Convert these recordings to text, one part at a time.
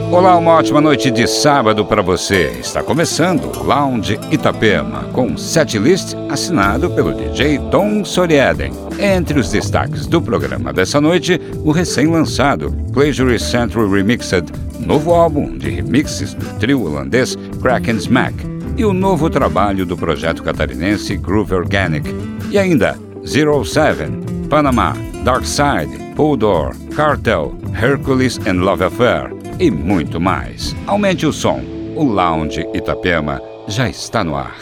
Olá, uma ótima noite de sábado para você. Está começando o Lounge Itapema, com um setlist assinado pelo DJ Tom Soriaden. Entre os destaques do programa dessa noite, o recém-lançado Pleasure Central Remixed, novo álbum de remixes do trio holandês Kraken Smack, e o novo trabalho do projeto catarinense Groove Organic. E ainda 07, Panama, Dark Side, Puldor, Cartel, Hercules and Love Affair e muito mais. Aumente o som, o Lounge Itapema já está no ar.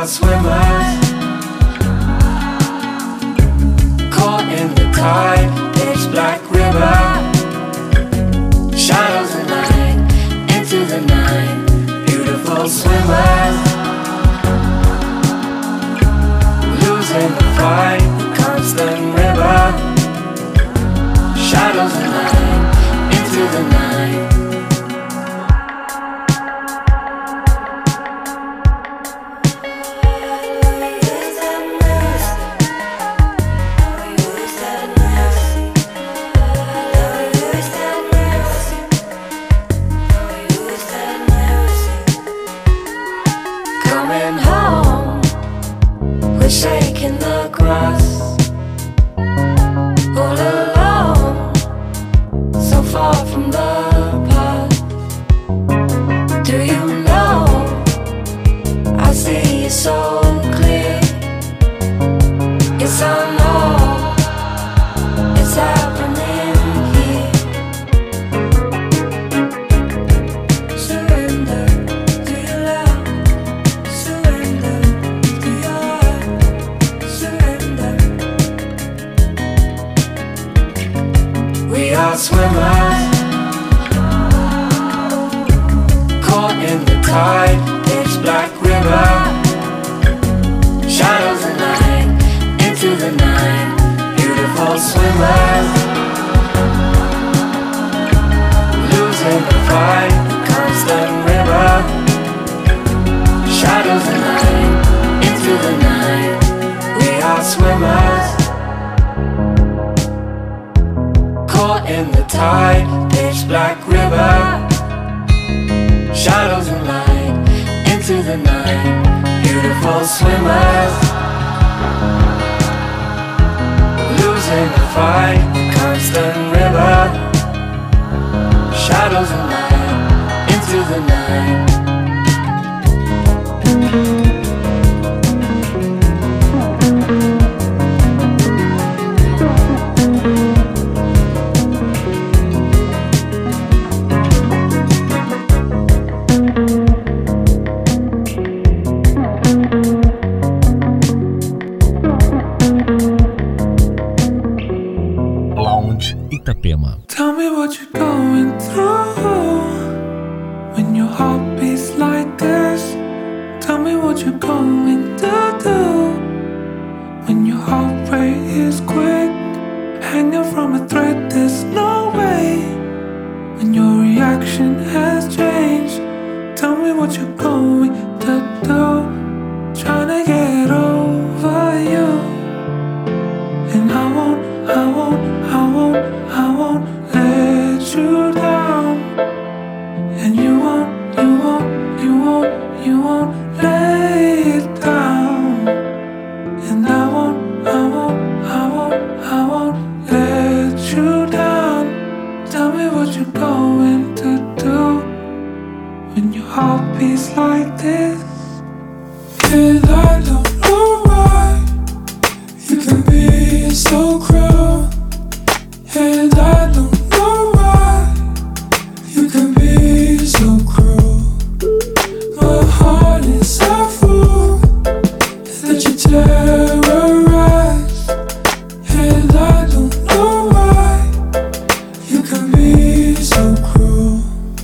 are swimmers, caught in the tide, pitch black river, shadows of night, into the night, beautiful swimmers, losing the fight, the constant river, shadows of night, into the night. Shaking the grass, all alone, so far from the past. Do you know, I see it so clear. Yes, I know, it's happening here. Surrender to your love, surrender to your heart. We are swimmers, caught in the tide, pitch black river, shadows of night, into the night, beautiful swimmers, losing the fight, the constant river, shadows of night, into the night, we are swimmers, caught in the tide, pitch black river, shadows and light, into the night, beautiful swimmers, losing the fight, the constant river, shadows and light, into the night. Itapema. Tell me what you're going through when your heart beats like this. Tell me what you're going to do when your heart rate is quick, hanging from a thread. There's no way when your reaction has changed. Tell me what you're going to do, trying to get over you. And I won't let you down. And you won't lay it down. And I won't let you down. Tell me what you're going to do when your heart beats like this. And I don't know why you can be so cruel. And I don't know why you can be so cruel. My heart is a fool that you terrorize. And I don't know why you can be so cruel.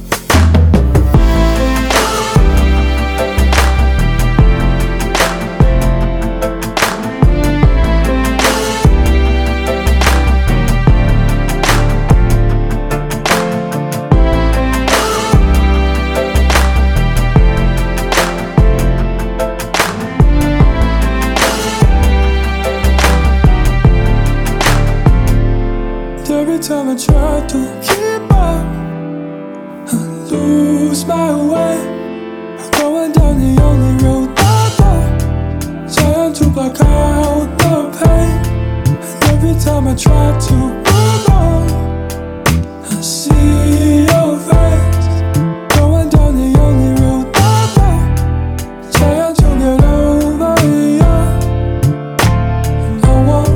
Every time I try to keep up, I lose my way. I'm going down the only road I know, trying to block out the pain. And every time I try to move on, I see your face. Going down the only road I know, trying to get over you. And I won't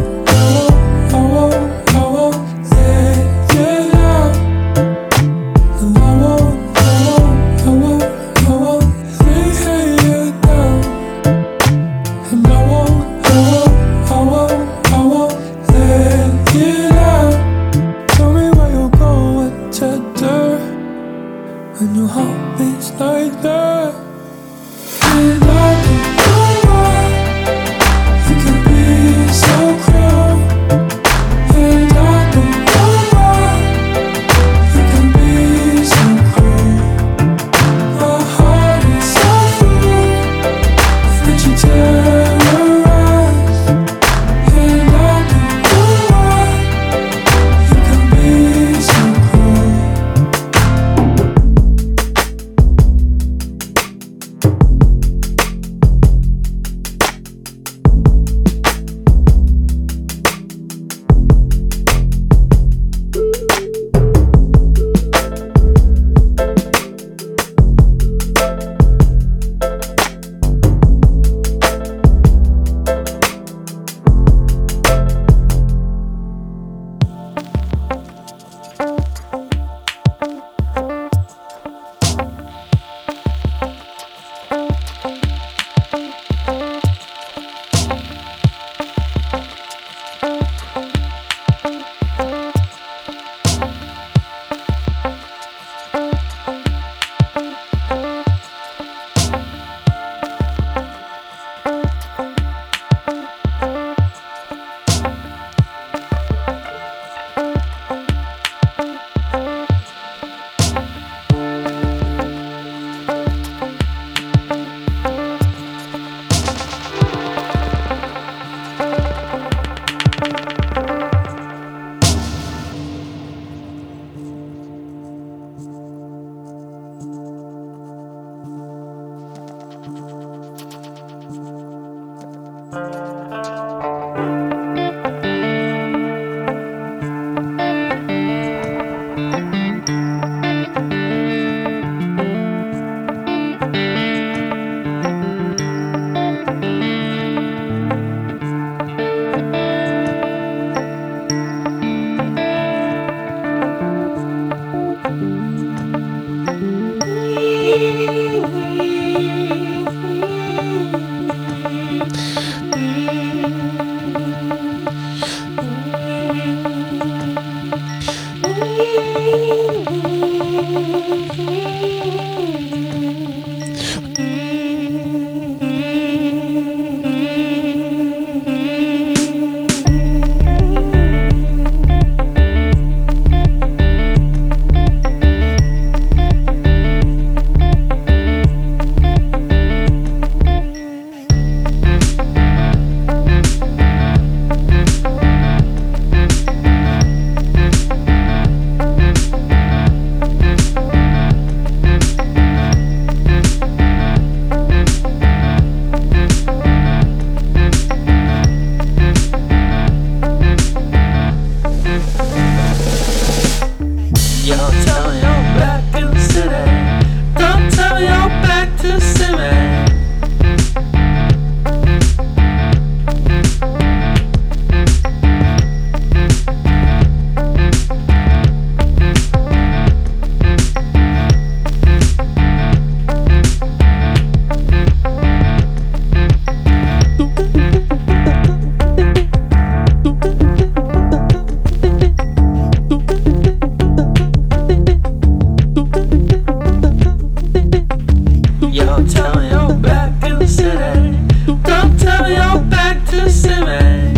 tell me you're back in the city. Don't tell me you're back to see me.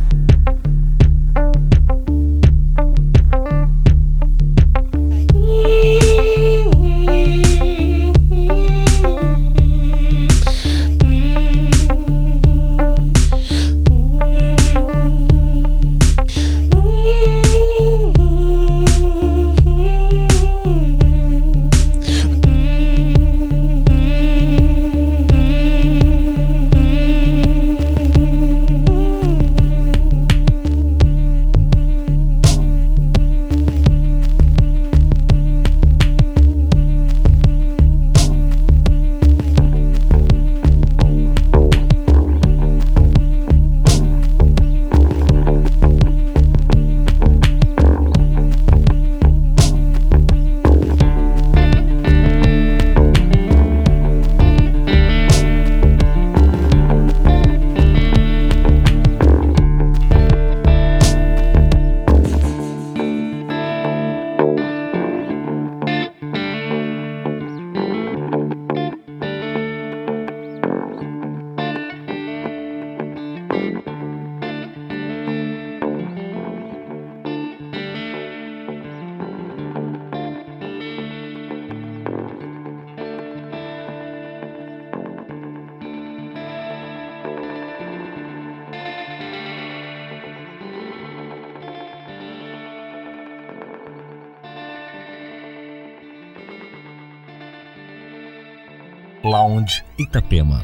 Lounge Itapema.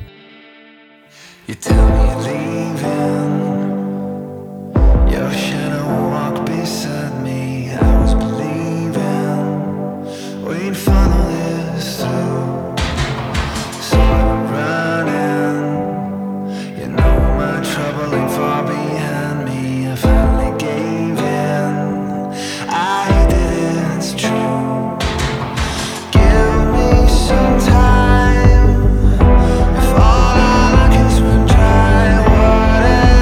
You tell me you're leaving. Your shadow walked beside me. I was believing we'd follow this through. So I'm running. You know my trouble ain't far behind me. I finally gave in. I hate that it's true. Give me some time. If all I like is when dry, whatever.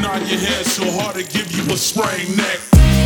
nod your head so hard to give you a sprained neck.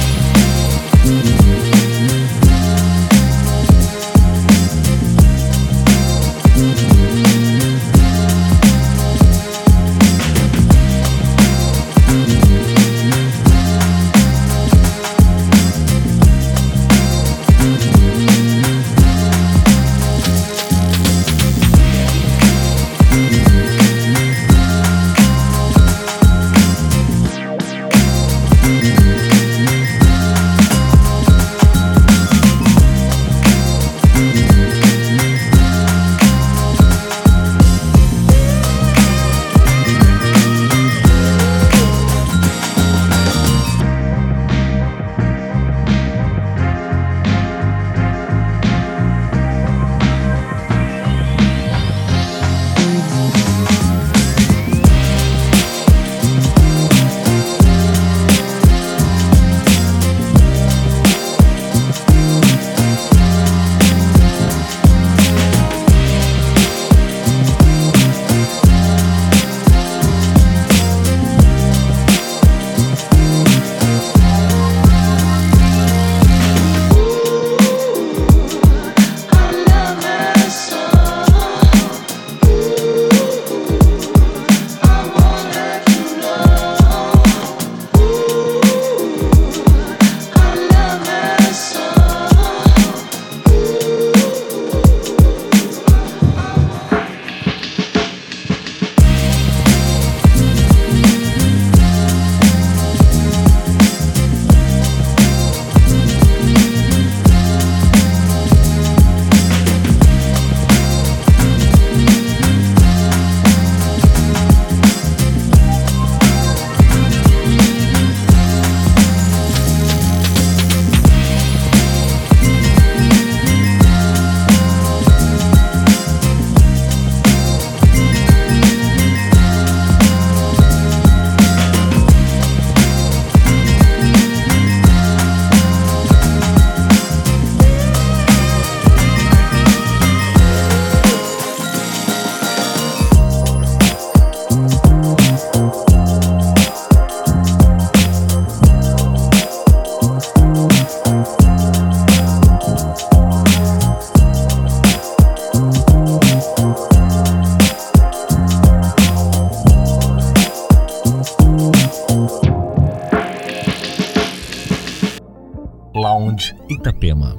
Lounge Itapema.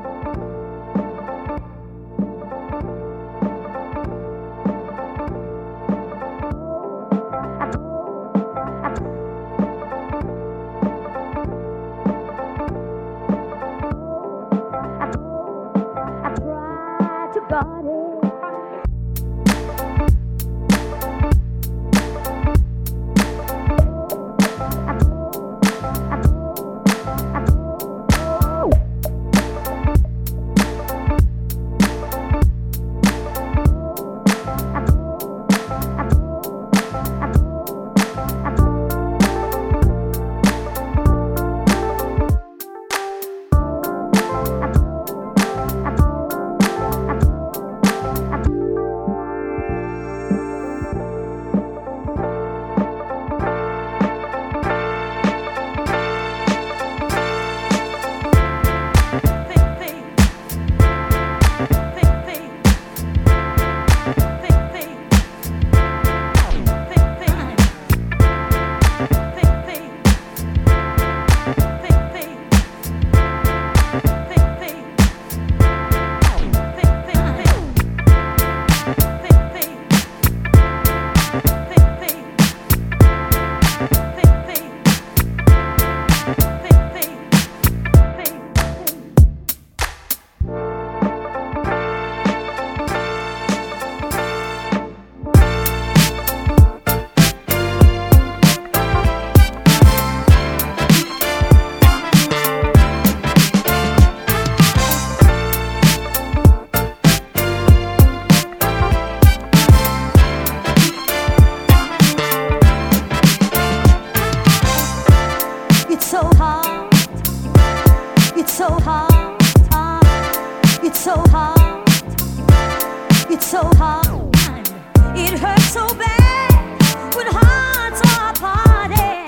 It's so hard. It hurts so bad when hearts are parted.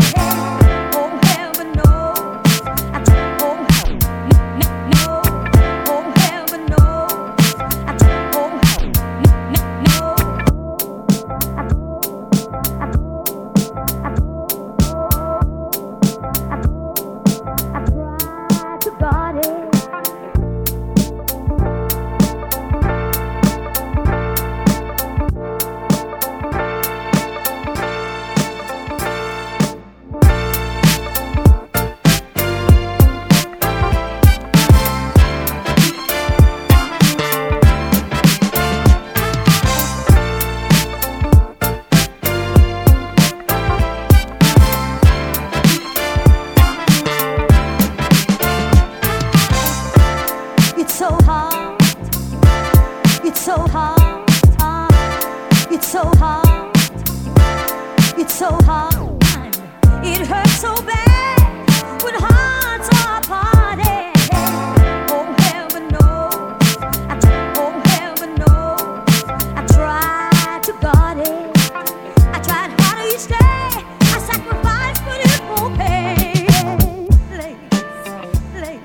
so hard. It hurts so bad when hearts are parted. Oh heaven knows, oh heaven knows, I tried to guard it. I tried hard each day. I sacrificed, but it won't pay. Ladies,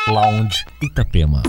Lounge Itapema.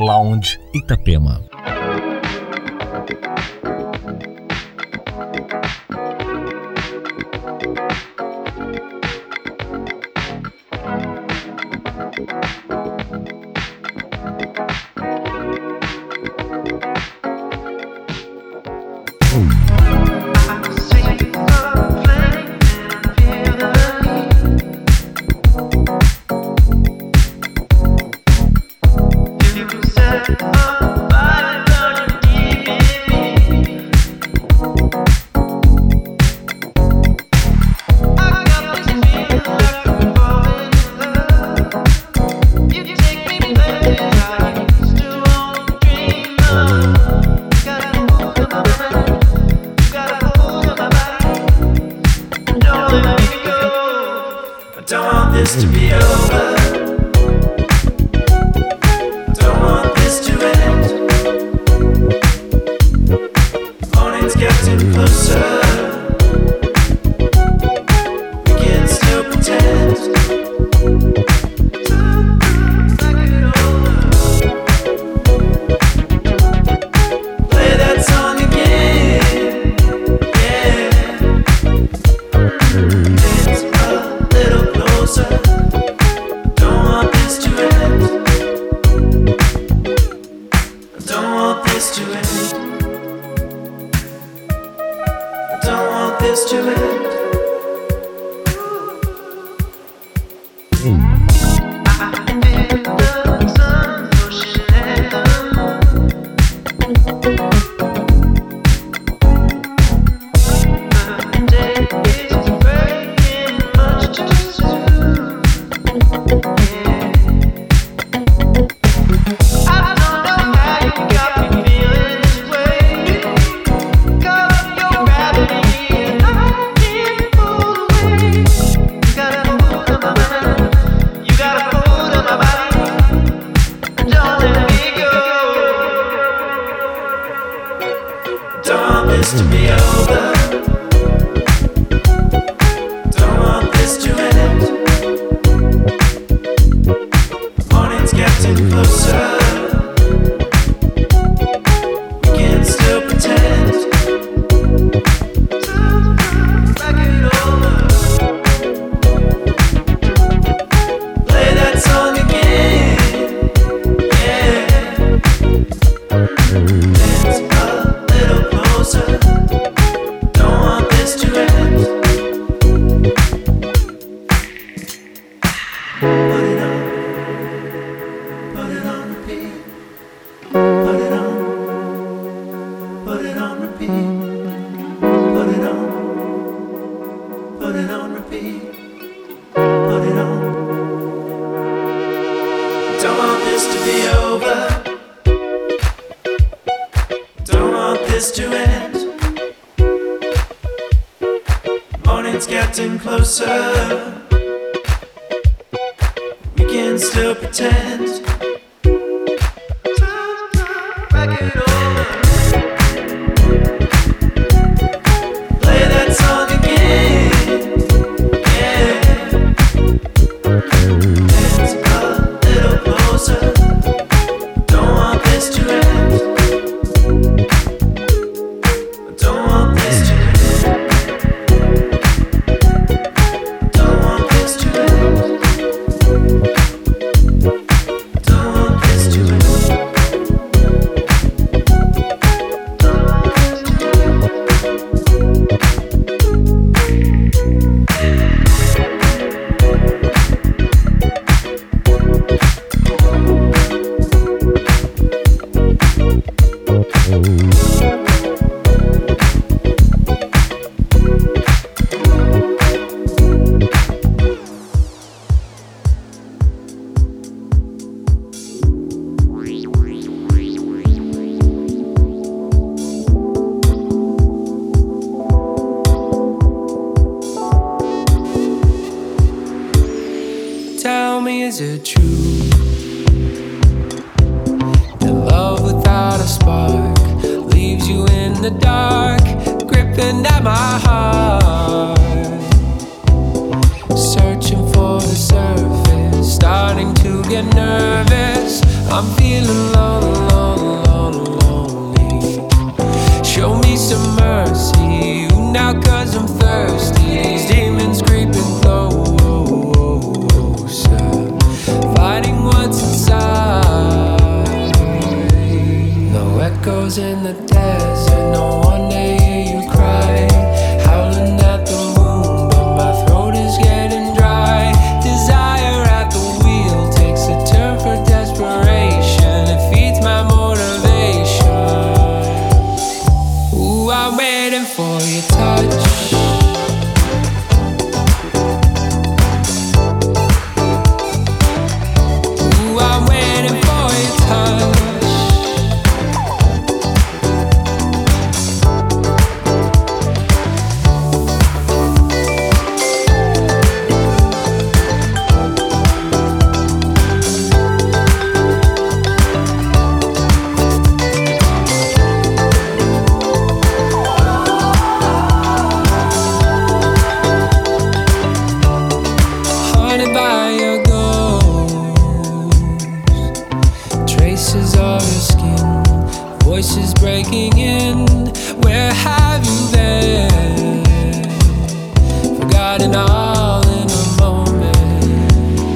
Lounge Itapema. Is it true that love without a spark leaves you in the dark, gripping at my heart, searching for the surface, starting to get nervous. I'm feeling lonely. voices breaking in. Where have you been? Forgotten all in a moment.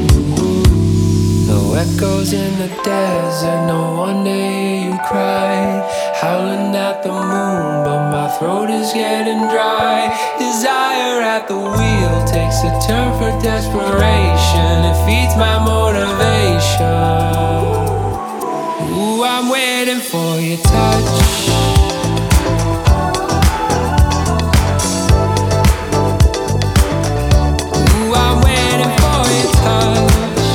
No echoes in the desert, no one to hear you cry. Howling at the moon, but my throat is getting dry. Desire at the wheel takes a turn for desperation. It feeds my motivation. Ooh, I'm waiting for your touch. Ooh, I'm waiting for your touch.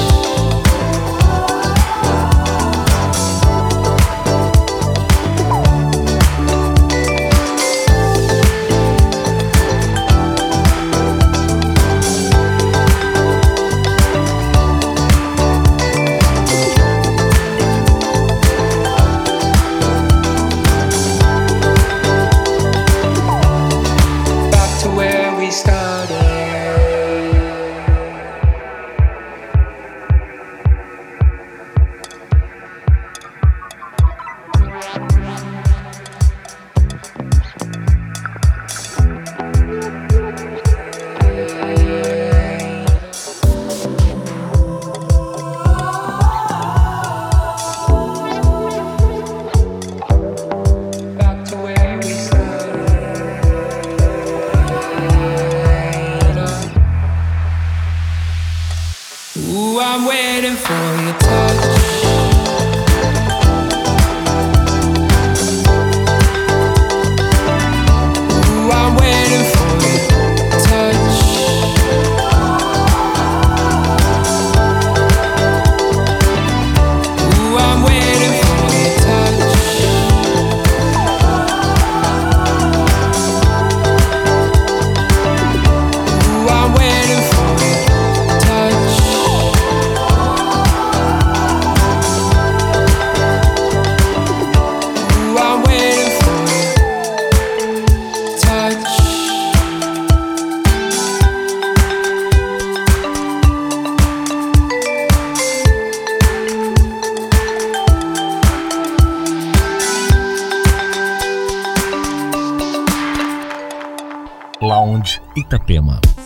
Ooh, I'm waiting for your touch. Ooh, I'm waiting for your touch. Ooh, I'm waiting for your touch. Ooh, I'm waiting for your touch. Ooh, I'm waiting for your touch. Lounge Itapema.